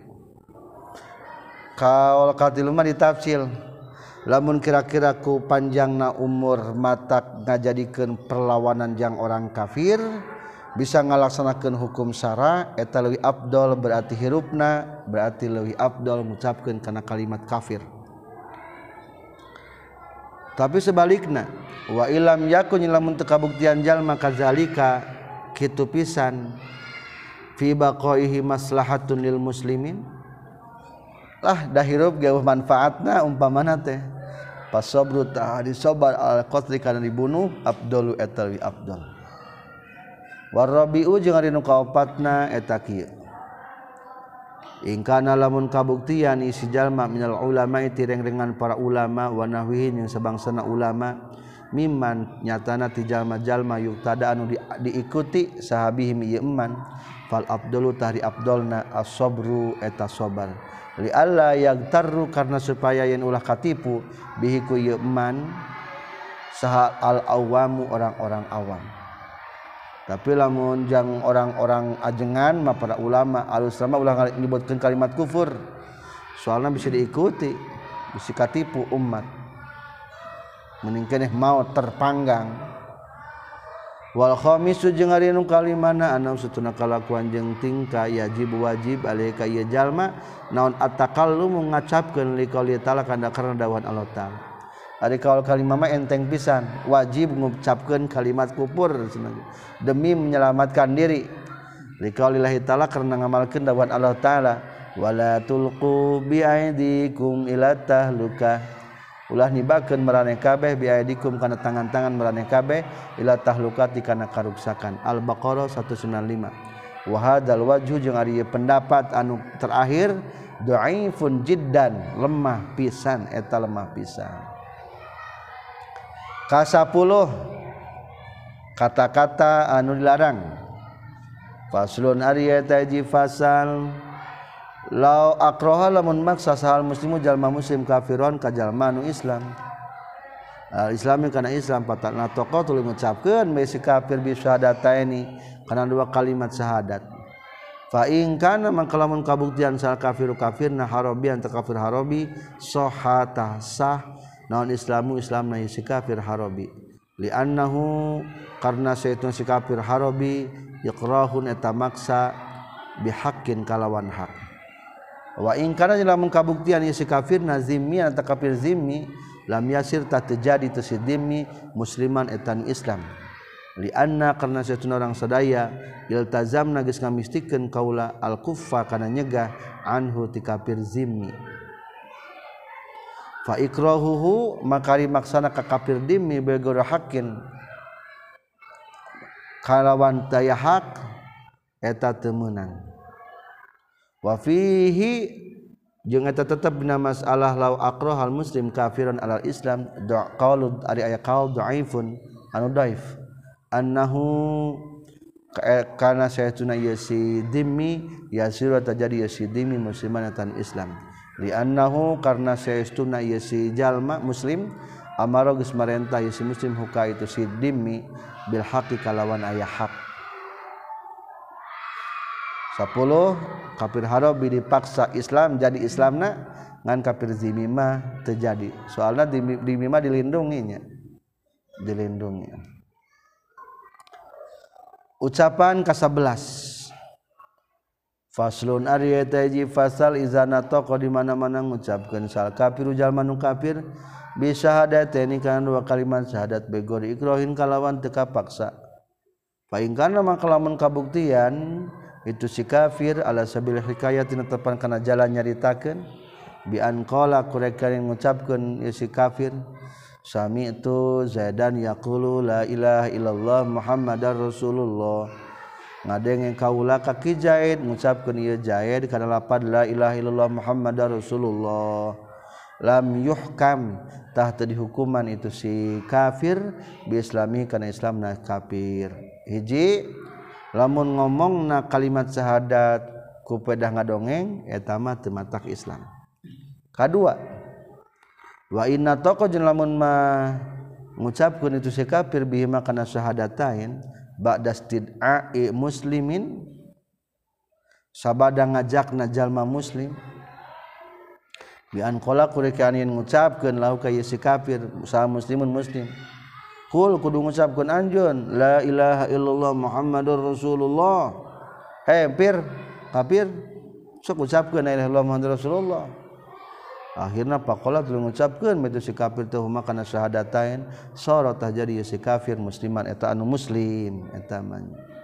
kaul katilu mah ditafsir lamun kira-kira ku panjangna umur matak ngajadikeun perlawanan jang orang kafir bisa ngalaksanakeun hukum syara eta leuwih afdal berarti hirupna berarti leuwih afdal ngucapkeun kana kalimat kafir. Tapi sebalikna wa ilam yakun lamun teu kabuktian jalma kadzalika kitu pisan fi baqaihi maslahatun lil muslimin lah dah hirup geuh manfaatna umpamana teh pasabru ta disabar al qatli kana dibunuh afdalu eta wi afdal warabiu jeung ari nu kaopatna eta kieu ingkana lamun kabuktian isi jalma minal ulama tireng-rengan para ulama wa nahwihin yang sabangsana ulama mimman nyatana ti jalma-jalma yuktada anu di, diikuti sahabihim ieu eman fal afdalu tahri afdalna as-sabru eta sabar li alla yagtarru karna supaya yen ulah katipu bihi ku ieu eman saha al awamu orang-orang awam tapi lamun jang orang-orang ajengan mah para ulama alus sama ulah nyebutkeun kalimat kufur soalna bisa diikuti bisa katipu umat mending keneh mau terpanggang wal khamisu jeung ari nu kalimana anu satuna kalakuan jeung tingkah yajib wajib alaika ieu jalma naon at-takallum ngacapkeun li qouli ta'ala kana karna dawuhan Allah Ta'ala ari kaul kalimah mah enteng pisan wajib ngucapkeun kalimat kufur demi menyelamatkan diri li qaulillahi ta'ala karna ngamalkeun dawuhan Allah Ta'ala wala tulqu bi aidikum ila tahlukah ulah nibakeun maraneh kabeh biaidikum kana tangan-tangan maraneh kabeh ila tahlukati kana karuksakan Al-Baqarah seratus sembilan puluh lima wa hadzal wajhu jeung ari pendapat anu terakhir dhaifun jiddan lemah pisan eta lemah pisan ka sepuluh kata-kata anu dilarang faslun ari eta hiji fasal law akraha lamun maksa sahal muslimu jalma muslim kafiron ka jalma nu Islam al islami kana Islam patana toqo tuluy ngucapkeun bae si kafir bi syahadataini kana dua kalimat syahadat fa in kana mangka lamun kabuktian sal kafiru kafirna harabi anta kafir harabi sahata sah naon islamu islamna si kafir harabi li annahu karna saytun si kafir harabi yaqrahun eta maksa bihaqqin kalawan hak wa in kana lamun kabuktian ieu si kafirna zimmi anta kafir zimmi lam yasir ta terjadi tu si zimmi musliman etan Islam li anna karna satuna orang sadaya iltazamna geus ngamistikeun kaula al kuffa kana nyegah anhu ti kafir zimmi fa ikrahuhu makari maksana ka kafir zimmi bagor hakin kalawan taya hak eta teu meunang wa fihi jeung eta tetep dina masalah law aqrahal muslim kafiran alal islam da qaul ari aya qaul dhaifun anu dhaif annahu kana saytuna yasi dimmi yasiru tajadi yasi dimmi musliman tan islam li annahu karna saytuna yasi jalma muslim amara geus marentah yasi muslim huka itu si dimmi bil haqqi kalawan aya hak sepuluh kafir harabi dipaksa Islam jadi Islamna ngan kafir zimmi mah terjadi soalna zimmi mah dilindunginya dilindungi ucapan ka sebelas faslun ari eta hiji fasal izana toqo di mana-mana ngucapkeun sal kafiru jalma nu kafir bi syahadataini kana dua kalimat syahadat begori ikrohin kalawan teu kapaksa fa in kana mangka lamun kabuktian itu si kafir ala sabil hikayat netepan kana jalan nyaritakeun bi an qala kureka ngucapkeun si kafir sami itu zaidan yaqulu la ilaha illallah muhammadar rasulullah ngadenge kaula ka ki zaid ngucapkeun ieu zaid kana lapad la ilaha illallah muhammadar rasulullah lam yuhkam tah teu dihukuman itu si kafir bi islami kana islamna kafir hiji lamun ngomongna kalimat syahadat ku pedah ngadongeng eta mah teu matak Islam. Kadua wa inna taqa jeung lamun mah ngucapkeun itu si kafir bihi kana syahadatain ba'da istid'a'i muslimin sabada ngajakna jalma muslim bi an qala kurekanin ngucapkeun lahu ka si kafir sa muslimun muslim kul kudu ngucapkeun anjeun la ilaha illallah muhammadur rasulullah he pir kafir sok ucapkeun la ilaha illallah muhammadur rasulullah akhirna faqala tuluy ngucapkeun itu si kafir teh huma kana syahadatain sorot tah jadi si kafir musliman eta anu muslim eta mah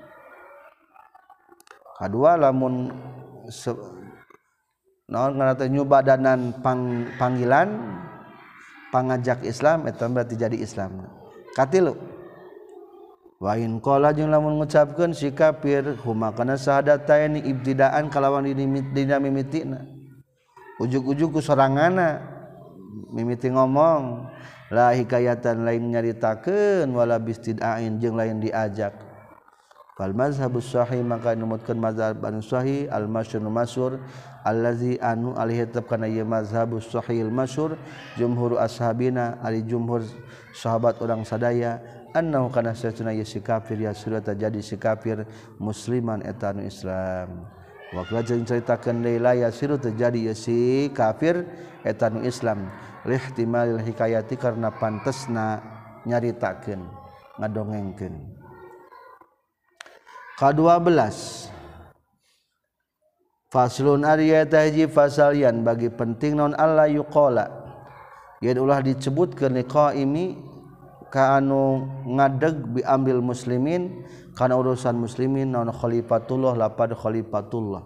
kadua lamun naon ngaranna teh nyubadanan pang, panggilan pangajak Islam eta berarti jadi Islam. Katilu wa in qala jeung lamun ngucapkeun si kafir huma kana sahadataini ibtidaan kalawan dina mimitina ujug-ujug ku soranganna mimiti ngomong la hikayatan lain nyaritakeun wala bistidain jeung lain diajak fal mazhabus sahih maka numutkeun mazhab anu sahih al masyhur masyhur allazi anu alih tetep kana ieu mazhabus sahih al masyhur jumhur ashabina ali jumhur sahabat orang sadaya annahu kana satuna ieu si kafir ya surata jadi si kafir musliman eta anu Islam wa kala jeung caritakeun deui ya surata jadi ieu si kafir eta anu Islam lihtimalil hikayati karena pantesna nyaritakeun ngadongengkeun. Kadua belas faslun ariyata hiji fasalian bagi penting non Allah yuqala yen ulah disebutkeun liqaimi ka anu ngadeg bi ambil muslimin kana urusan muslimin naon khalifatullah lapad khalifatullah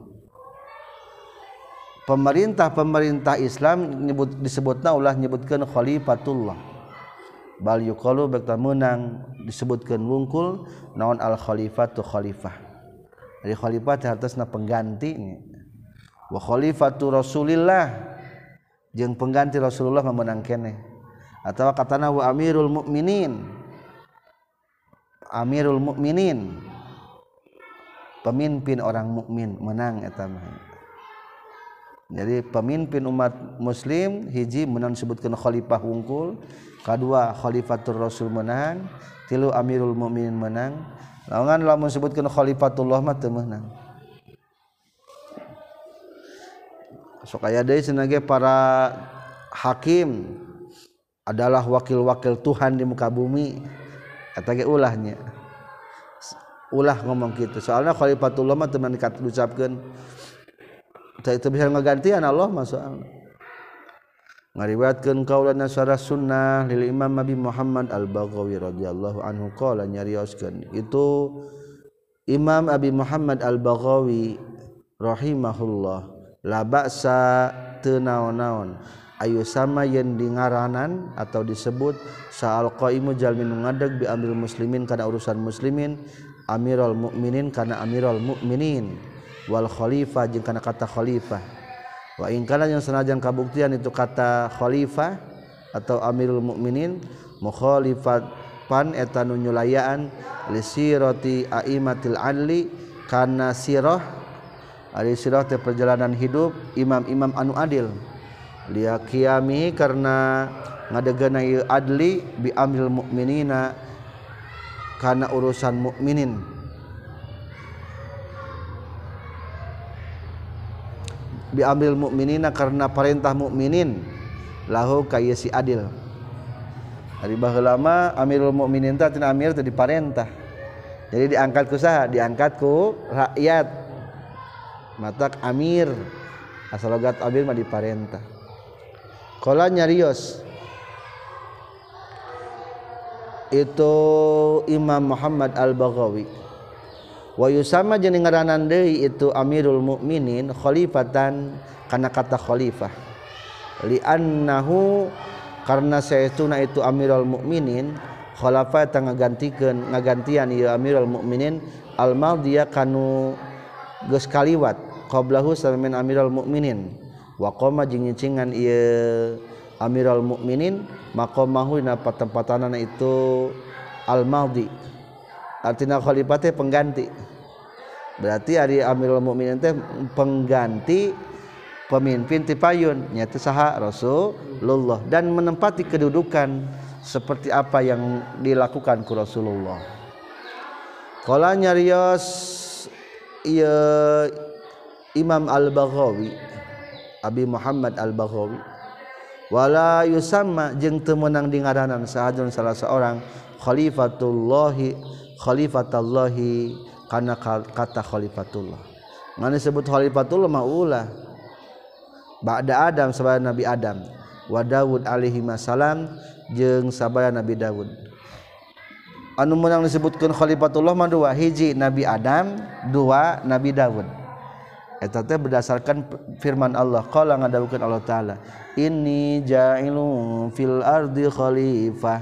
pemerintah-pemerintah Islam nyebut disebutna ulah nyebutkeun khalifatullah bal yuqalu bakta meunang disebutkeun wungkul naon al khalifatu khalifah. Jadi khalifah hartosna pengganti wa khalifatu Rasulillah jeung pengganti Rasulullah meunang keneh atawa katana wa amirul mukminin amirul mukminin pemimpin orang mukmin menang eta mah. Jadi pemimpin umat muslim hiji meunang disebutkeun khalifah wungkul, kadua khalifatur rasul menang, tilu amirul mukminin menang. Lawan lamun disebutkeun khalifatullah mah teu meunang. Sok aya deui cenah ge para hakim adalah wakil-wakil Tuhan di muka bumi. Eta ge ulahnya. Ulah ngomong kitu. Soalna khalifatullah mah teu dikat diucapkeun. Itu bisa ngegantian Allah masalah ngariwayatkeun qaulana syarah sunnah lil Imam Abi Muhammad Al-Baghawi radhiyallahu anhu qala nyarioskeun itu Imam Abi Muhammad Al-Baghawi rahimahullah la ba'sa teu naon-naon ayu sama yen di ngaranan atau disebut sa'al qaimu jalmin ngadeg bi ambil muslimin kana urusan muslimin amirul mukminin kana amirul mukminin wal khalifah jeung kana kata khalifah wa in kana yang senajan kabuktian itu kata khalifah atau amirul mukminin mukhalifat pan eta nu nyulayaan li sirati aimatil adli kana sirah ari sirah teh perjalanan hidup imam-imam anu adil liya qiyami karena ngadegeuna ieu adli bi amril mukminina kana urusan mukminin bi amril mukminina karena perintah mukminin lahu ka ieu si adil. Ari baheula mah amirul mukminin teh tina amir teh diparentah. Jadi diangkat ku saha? Diangkat ku rakyat. Matak amir. Asal logat amir mah diparentah. Qala nyarios itu Imam Muhammad Al-Baghawi wa yusama jeung ngaranan deui itu amirul mukminin khalifatan kana kata khalifah li annahu karna saestuna itu amirul mukminin khalafa ta ngagantikeun ngagantian ieu amirul mukminin al madhiya kanu geus kaliwat qablahu samin amirul mukminin wa qama jeung nyicingan ieu amirul mukminin maqamahu dina patempatanana itu al madhi artina khalifah teh pengganti. Berarti ari amirul mukminin teh pengganti pemimpin ti payun nya teh saha Rasulullah dan menempati kedudukan seperti apa yang dilakukan ku Rasulullah. Qala nyarios ieu Imam Al-Baghawi Abi Muhammad Al-Baghawi wala yusamma jeung teu meunang dingaranan sahajun salah seorang khalifatullahi khalifatullahi kana kata khalifatullah. Ngana disebut khalifatullah mah ulah ba'da Adam sabaya Nabi Adam wa Daud alaihi salam jeung sabaya Nabi Daud. Anu meunang disebutkeun khalifatullah mah dua, hiji Nabi Adam, dua Nabi Daud. eta teh berdasarkan firman Allah qala ngadawukeun Allah taala inni ja'ilun fil ardi khalifah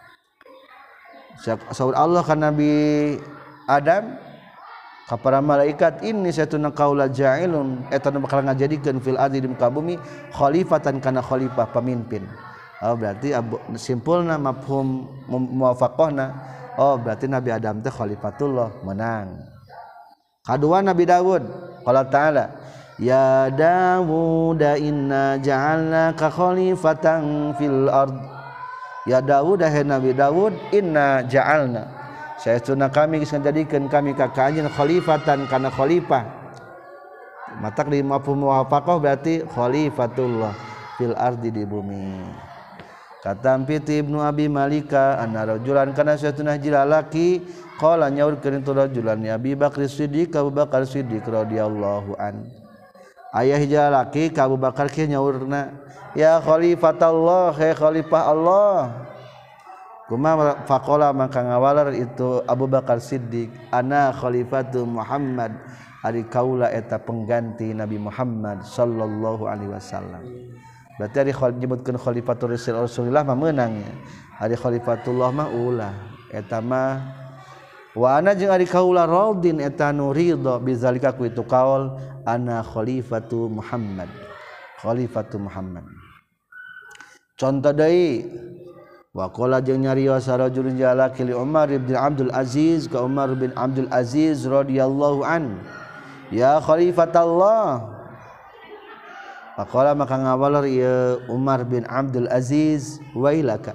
saur Allah ka Nabi Adam ka para malaikat inni satuna qaula ja'ilun eta nu bakal ngajadikeun fil ardi di muka bumi khalifatan kana khalifah pemimpin. Oh berarti simpulna mafhum muwafaqahna oh berarti Nabi Adam teh khalifatullah menang. Kadua Nabi Daud qala ta'ala ya Daud inna ja'alnaka khalifatan fil ard ya Daud hai Nabi Daud inna ja'alna saestuna kami geus ngajadikeun kami ka anjeun khalifatan kana khalifah matak di mafhum muwafaqah berarti khalifatullah fil ardi di bumi. Katampi Ibnu Abi Malika anna rajulan kana saestuna jilalaki qala nyaurkeun itu rajulan ya Abi Bakar Siddiq Abu Bakar Siddiq radhiyallahu an aya hiji lalaki ka Abu Bakar kieu nyaurna ya khalifatullah he khalifah Allah kumaha faqala maka ngawalar itu Abu Bakar Siddiq ana khalifatu Muhammad ari kaula eta pengganti Nabi Muhammad sallallahu alaihi wasallam. Berarti ari nyebutkeun khalifatur Rasulullah mah meunang nya. Ari khalifatullah mah ulah eta mah wa ana jeung ari kaula radin eta nu ridha bizalika ku itu kaul ana khalifatu Muhammad. Khalifatu Muhammad. Contoh deui wa qala jeung nyarios sarajulun jalaki li Umar bin Abdul Aziz ka Umar bin Abdul Aziz radhiyallahu an ya khalifatullah faqala maka ngawalar ieu Umar bin Abdul Aziz wailaka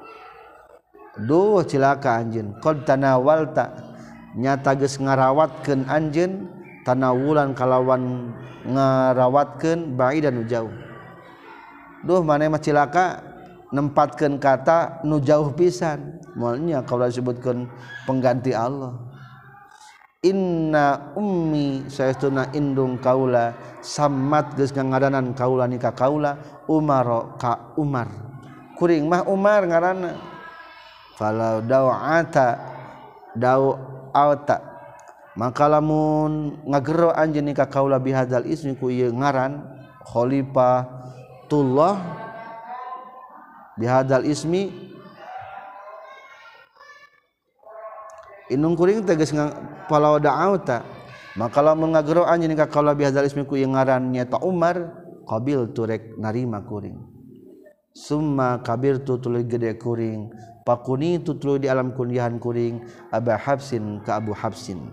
duh cilaka anjeun qad tanawalta nyata geus ngarawatkeun anjeun tanawulan kalawan ngarawatkeun baidan jauh duh maneh mah cilaka nempatkeun kata nu jauh pisan moalnya kalau disebutkeun pengganti Allah inna ummi saestuna indung kaula sammat geus ngadanan kaula ni ka kaula Umar ka Umar kuring mah Umar ngaranna falau da'ata da'ata maka lamun ngagero anjeun ni ka kaula bihadzal ismi ku ieu ngaran khalifatullah bihadzal ismi inung kuring tegas palau da'auta maka lamun ngagero anjeun ka kaula bihadzal ismi ku ieu ngaran nyaeta Umar qabil turek narima kuring summa kabirtu tuluy gede kuring pakuni tutuluy di alam kunyahan kuring Aba Habsin ka Abu Habsin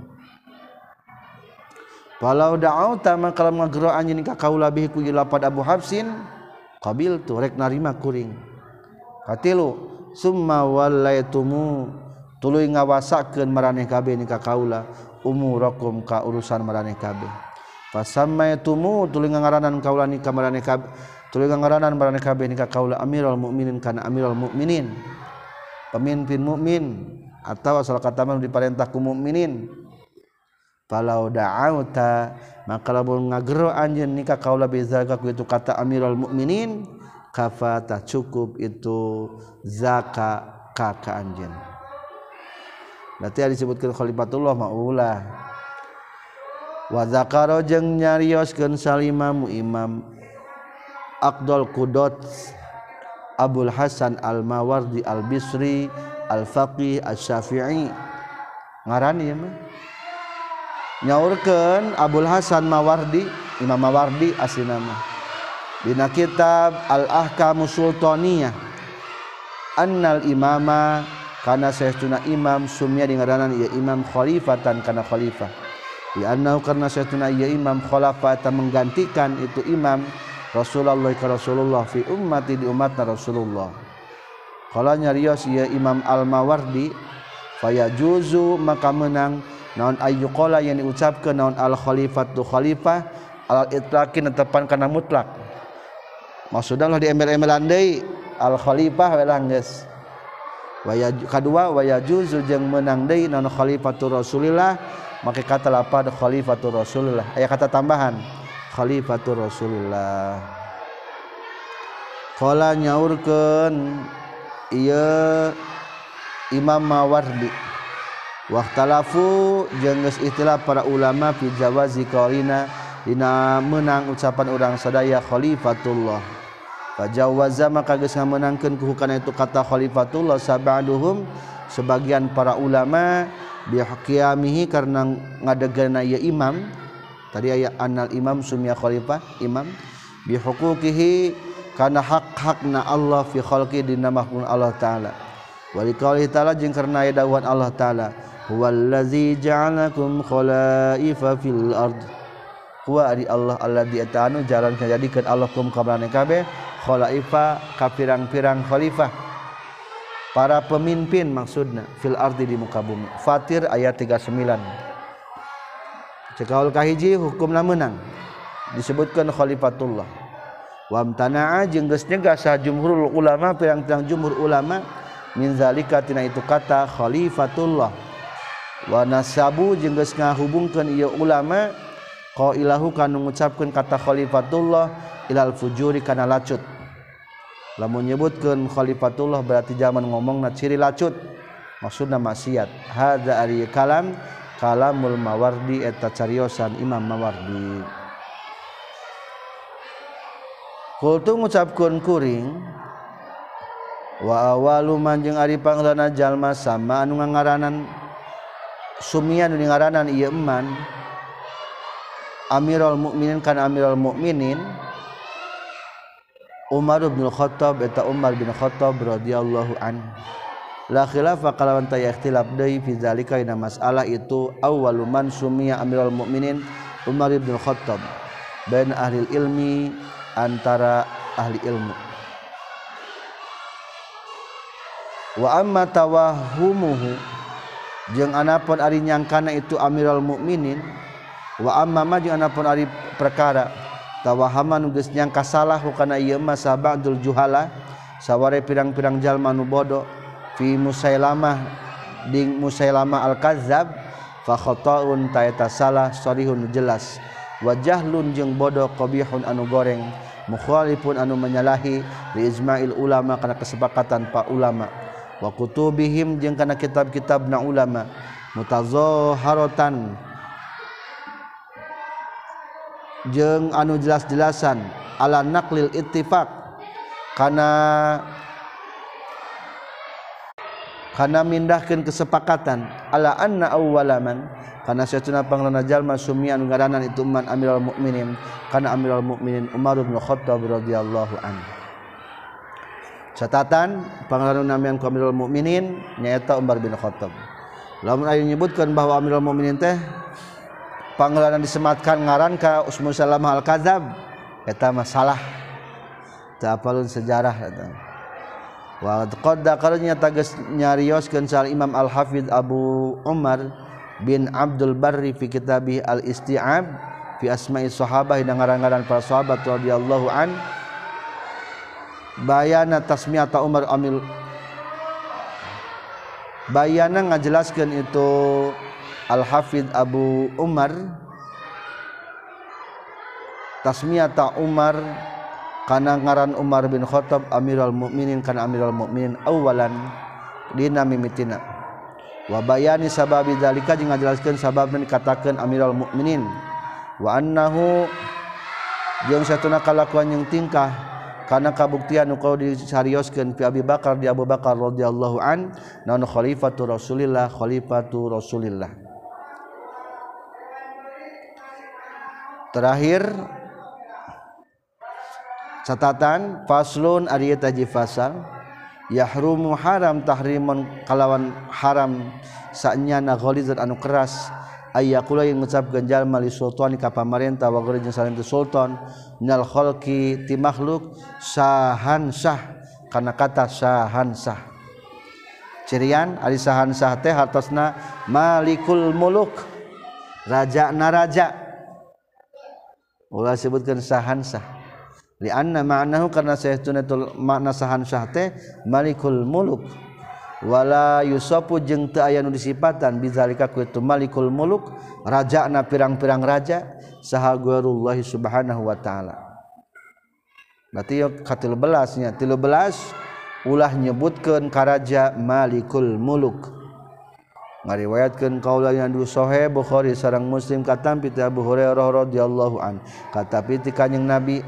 palau da'auta maka lamun ngagero anjeun ka kaula bih ku ieu lapad Abu Habsin qabil turek narima kuring katilu summa wallaitumu tuluy ngawasakeun maraneh kabeh ni ka kaula umurakum ka urusan maraneh kabeh fasammaitumu tuluy ngaranan kaula ni ka maraneh kabeh tuluy ngaranan maraneh kabeh ni ka kaula amirul mukminin kana amirul mukminin pemimpin mukmin atawa salah kata mah diparentah ku mukminin falau da'auta maka lamun ngagero anjeun ni ka kaula bizalika ku itu kata amirul mukminin kafata cukup itu zaka ka anjeun berarti disebutkeun khalifatullah maulah wa zakara jeung nyarioskeun salimamu imam Aqdal Qudot Abul Hasan Al-Mawardi Al-Bisri Al-Faqih Asy-Syafi'i ngaran ieu mah nyaurkeun Abul Hasan Mawardi Imam Mawardi aslina mah dina kitab Al-Ahkamus Sultaniyah annal imama kana saestuna imam sumya di ngaranan ieu imam khalifatan kana khalifah di annahu karna saestuna ieu imam khalafata menggantikan itu imam Rasulullah ka Rasulullah fi ummati di umatna Rasulullah qala nyarios ieu Imam Al-Mawardi fayajuzu maka menang naon ayyuqala yang diucapkeun naon al khalifatu khalifah al itlaqin netepan kana mutlak maksudna di embel-embelan deui al khalifah we lang geus waya kadua wayajuzu jeung meunang deui naon khalifatur Rasulillah make kata lapad khalifatur Rasulillah aya kata tambahan khalifatur Rasulillah qala nyaurkeun ieu Imam Mawardi waqtalafu jeung geus ikhtilaf para ulama fi jawazi qarina dina menang ucapan urang sadaya khalifatullah. Fajawaza maka geus ngamenangkeun ku kana itu kata khalifatullah sabaduhum sebagian para ulama bihaqiyamihi karena ngadegana ieu imam. Tadi aya annal imam sumia khalifah imam bihuquqihi kana hak-hakna Allah fi khalqi dina makhluk Allah taala. Wa liqauli taala jeung karna aya dawuhan Allah taala huwallazi ja'alakum khalaifa fil ard. Huwa ari Allah alladzi atanu jalan kajadikeun Allah kum kabrane kabeh khalaifa ka pirang-pirang khalifah para pemimpin maksudna fil ardi di muka bumi. Fatir ayat tiga puluh sembilan. Cekaul kahiji hukumna menang disebutkan khalifatullah. Wa amtana'a jeung geus nyegah sah jumhurul ulama pirang-pirang jumhur ulama min zalika tina itu kata khalifatullah. Wa nasabu jeung geus ngahubungkeun ieu ulama qailahu kana ngucapkeun kata khalifatullah ilal fujuri kana lacut. Lamun nyebutkeun khalifatullah berarti zaman ngomongna ciri lacut maksudna maksiat. Hadza ari kalam kalamul Mawardi eta cariosan Imam Mawardi. Kultu ngucapkeun kuring wa awalu man jeung ari panglana jalma sama anu ngaranan sumian anu ngaranan ieu eman Amirul Mukminin kana Amirul Mukminin Umar bin Khattab eta Umar bin Khattab radhiyallahu anhu. La khilafa kalawan taya ikhtilaf deui fi zalika ina masalah itu awwalu man sumiya Amirul Mukminin Umar bin Khattab bain ahli ilmi antara ahli ilmu. Wa amma tawahhumuhu jeung anapun ari nyangkana itu Amirul Mukminin wa amma ma jeung anapun ari perkara tawahaman geus nyangka salah kana ieu mah sabadul juhala saware pirang-pirang jalma nu bodoh fi Musailamah ding Musailamah al-Kadzab fa khata'un ta eta salah sharihun jelas wa jahlun jeung bodoh qabihun anu goreng mukhalifun anu menyalahi li ijma'il ulama kana kesepakatan pa ulama wa kutubihim jeung kana kitab-kitabna ulama mutazahharatan jeung anu jelas-jelasan ala naqlil ittifaq kana kana mindahkeun kesepakatan ala anna awwalaman kana satuna panglana jalma sumian ngaranan itu man Amirul Mukminin kana Amirul Mukminin Umar bin Khattab radhiyallahu anhu. Catatan panglana namian ku Amirul Mukminin nyaeta Umar bin Khattab. Lamun aya nyebutkeun bahwa Amirul Mukminin teh panglana disematkan ngaran ka Usmu Salamah al-Kadzab eta masalah teu apalun sejarah eta. Wa qad daqarnya tagas nyarioskeun sal Imam Al-Hafidz Abu Umar bin Abdul Barri fi kitabih Al-Isti'ab fi asma'i sahabah dan ngaran-ngaran para sahabat radhiyallahu an bayana tasmiyata Umar amil bayana ngajelaskeun itu Al-Hafidz Abu Umar tasmiyata Umar kana ngaran Umar bin Khattab Amirul Mukminin kana Amirul Mukminin awalan dina mimitina wa bayani sababi zalika jeung ngajelaskeun sababna dikatakeun Amirul Mukminin wa annahu jeung satuna kalakuan jeung tingkah kana kabuktian nu kau disarioskeun fi Abi Bakar di Abu Bakar radhiyallahu an naon khalifatu Rasulillah khalifatu Rasulillah. Terakhir catatan faslun ari eta ji fasal yahrumu haram tahrimun kalawan haram sanyana ghalizan anu keras ayyakula yang ngucapkeun jalma li sultani ka pamarentah wa ghairi jeung salin sultan minal khalqi ti makhluk sahan sah kana kata sahan sah cirian ari sahan sah teh hartosna malikul muluk raja na raja ulah sebutkeun sahan sah li anna ma'nahu karna saytuna makna sahan sah teh malikul muluk wala yusafu jeung teu aya nu disipatan bizalika ku itu malikul muluk rajana pirang-pirang raja saha ghairullah subhanahu wa taala. Berarti ka tilu belas nya tilu belas ulah nyebutkeun ka raja malikul muluk ngariwayatkeun qaula yang du sahih Bukhari sareng Muslim katampi ti Abu Hurairah radhiyallahu an katapi ti kanjing Nabi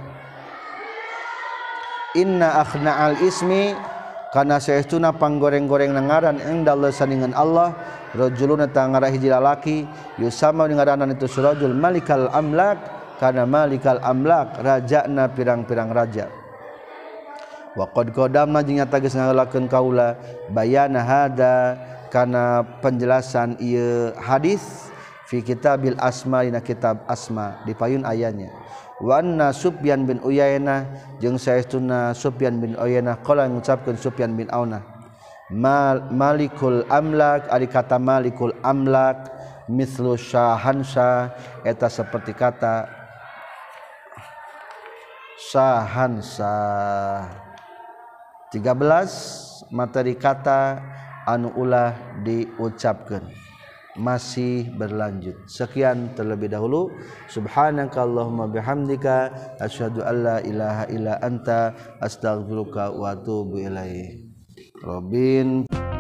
inna akhna'al ismi kana saestuna panggoreng-goreng ngaran indallah saningan Allah rajulun eta ngara hiji lalaki yusama ngaranan itu surajul malikal amlak kana malikal amlak rajana pirang-pirang raja wa qad qadamna jeung nyata geus ngalakeun kaula bayana hada kana penjelasan ieu hadis fi kitabil asma dina kitab asma di payun ayanya wa anna Sufyan bin Uyainah jeung saestuna Sufyan bin Uyainah qala ngucapkeun Sufyan bin Aunah Mal, malikul amlak ari kata malikul amlak mislu syahansa eta seperti kata syahansa tiga belas materi kata anu ulah diucapkeun masih berlanjut. Sekian terlebih dahulu. Subhanakallahumma bihamdika asyhadu an la ilaha illa anta astaghfiruka wa atubu ilaik. Robin